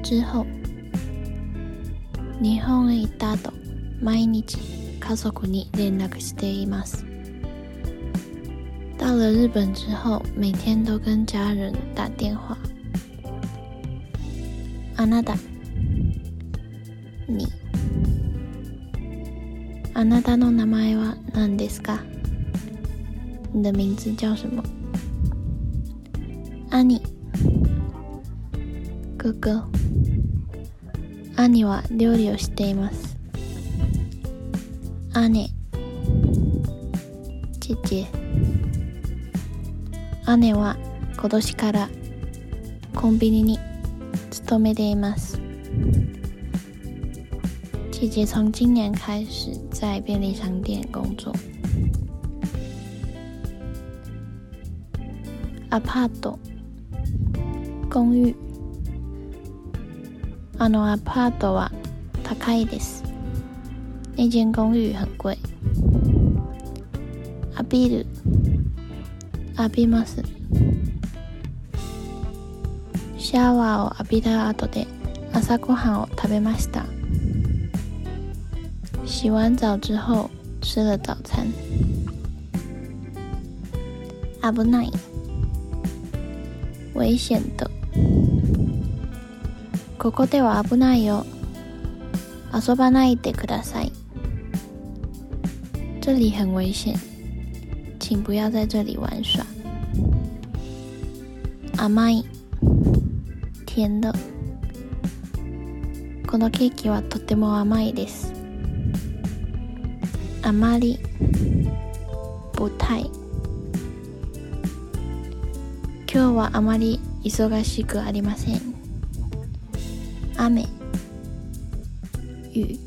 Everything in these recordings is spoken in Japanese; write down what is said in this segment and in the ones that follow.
之后。日本へ行った後、毎日家族に連絡しています。到了日本之后，每天都跟家人打电话。あなた、你。あなたの名前は何ですか？你的名字叫什么？兄、哥哥。兄は料理をしています。姉、姐姐。姉は今年からコンビニに勤めています。姐姐从今年开始在便利商店工作。アパート、公寓。アパートは高いです。那间公寓很贵。浴びる、浴びます。シャワーを浴びた後で朝ごはんを食べました。洗完澡之后吃了早餐。危ない、危险的。ここでは危ないよ。遊ばないでください。这里很危险，请不要在这里玩耍。甘い、甜的。このケーキはとても甘いです。あまり、不太。今日はあまり忙しくありません。雨、雨。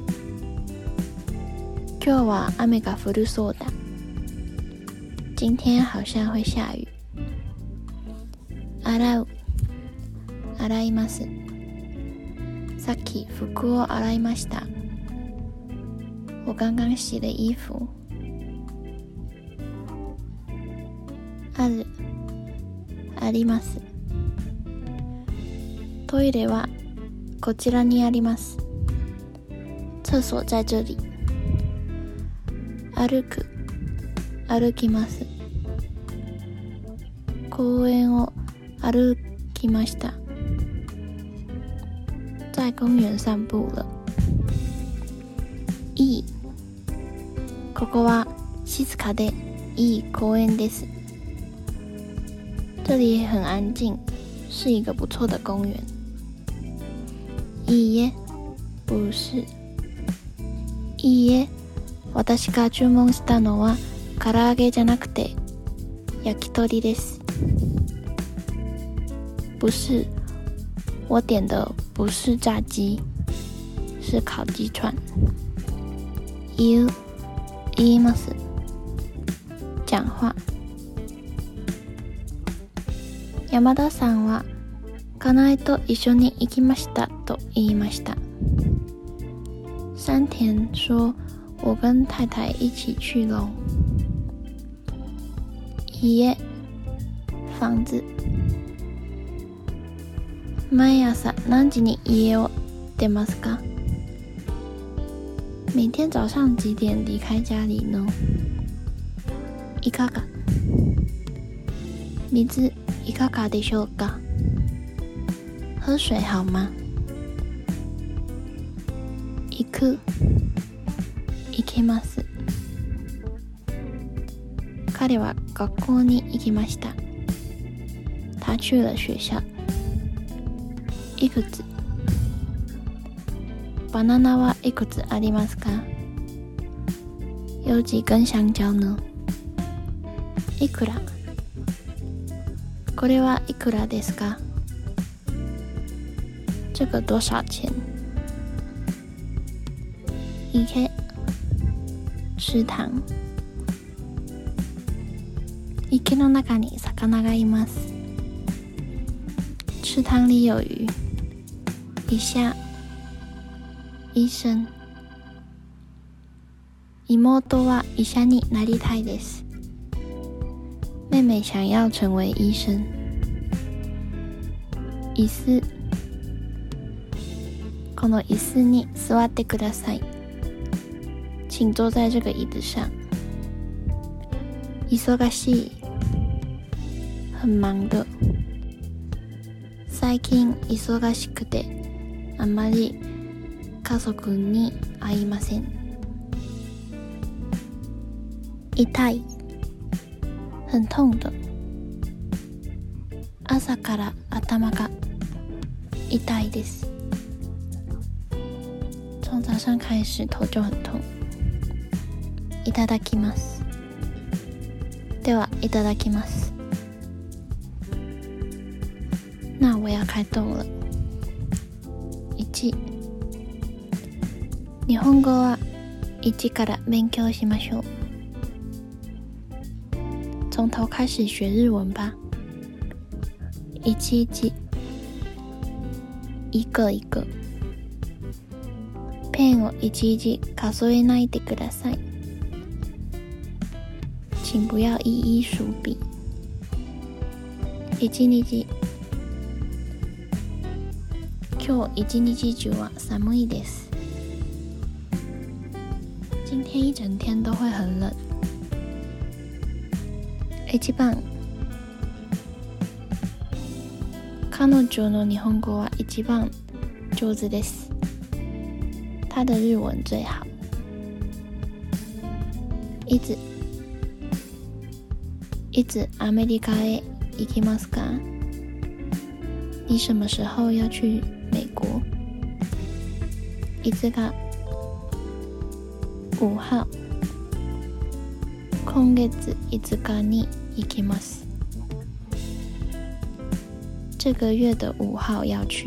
今日は雨が降るそうだ。今天好像会下雨。洗う、洗います。さっき服を洗いました。我刚刚洗了衣服。ある、あります。トイレはこちらにあります。厕所在这里。歩く、歩きます。公園を歩きました。在公園散步了。いい。ここは静かでいい公園です。这里很安静，是一个不错的公园。いいえ、不是。いいえ、私が注文したのは唐揚げじゃなくて焼き鳥です。不是，我点的不是炸鸡，是烤鸡串。言います。讲话。山田さんは家内と一緒に行きましたと言いました。山田说我跟太太一起去咯。家、房子。毎朝何時に家を出ますか？每天早上几点离开家里呢？いかが？水いかがでしょうか？喝水好吗？行く、行きます。彼は学校に行きました。他去了学校。いくつ？バナナはいくつありますか？有几根香蕉呢？いくら？これはいくらですか？这个多少钱？池、池塘。池の中に魚がいます。池塘里有鱼。医者、医生。妹は医者になりたいです。妹妹想要成为医生。椅子、 この椅子に座ってください。请坐在这个椅子上。忙しい。很忙的。最近忙しくてあまり家族に会いません。痛い。很痛的。朝から頭が痛いです。从早上开始头就很痛。いただきます。ではいただきます。那我要开动了。1、日本語は1から勉強しましょう。从头开始学日文吧。1、一個一個。ペンをいちいち数えないでください。请不要一一数笔。1日。今日一日中は寒いです。今天一整天都会很冷。1番。彼女の日本語は一番上手です。他的日文最好。いつアメリカへ行きますか？你什么时候要去美国？いつが5号。今月5日に行きます。这个月的5号要去。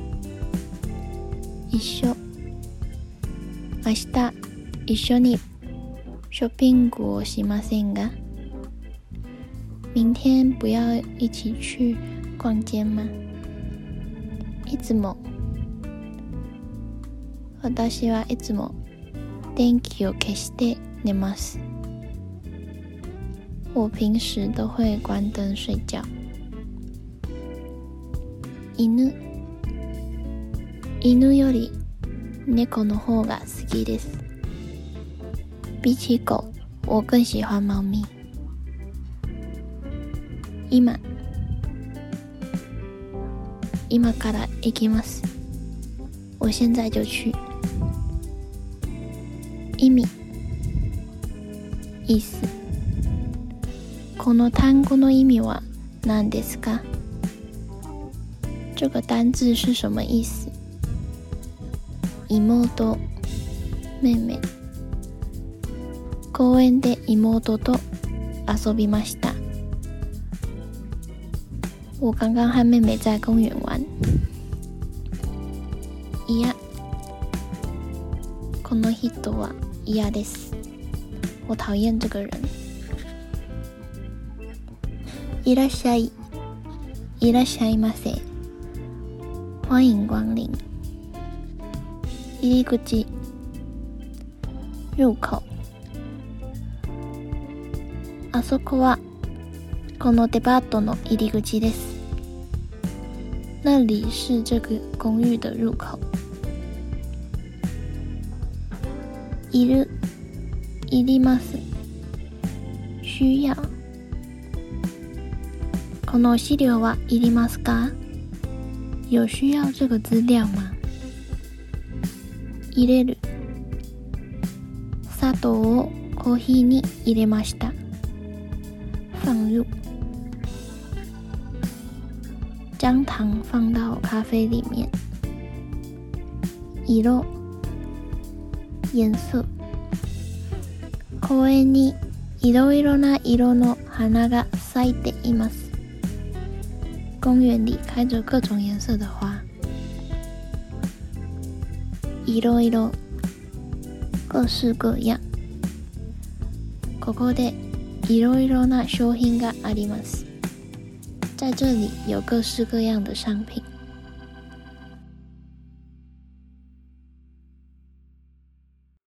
一緒。明日一緒にショッピングをしませんか？明天不要一起去逛街吗？いつも。私はいつも電気を消して寝ます。我平時都会关灯睡觉。犬より猫の方が好きです。比起狗，我更喜欢猫咪。今から行きます。我现在就去。意味。意思。この単語の意味は何ですか？这个单字是什么意思？妹、妹妹。公園で妹と遊びました。我刚刚和妹妹在公园玩。嫌。この人は嫌です。我讨厌这个人。いらっしゃい。いらっしゃいませ。欢迎光临。入り口。入口。あそこはこのデパートの入り口です。那里是这个公寓的入口。いる。いります。需要。この資料はいりますか？有需要这个资料吗？入れる。砂糖をコーヒーに入れました。放入。将糖放到咖啡里面。色。颜色。公園にいろいろな色の花が咲いています。公園里开着各种颜色的花。いろいろ。各式各样。ここでいろいろな商品があります。在这里有各式各样的商品。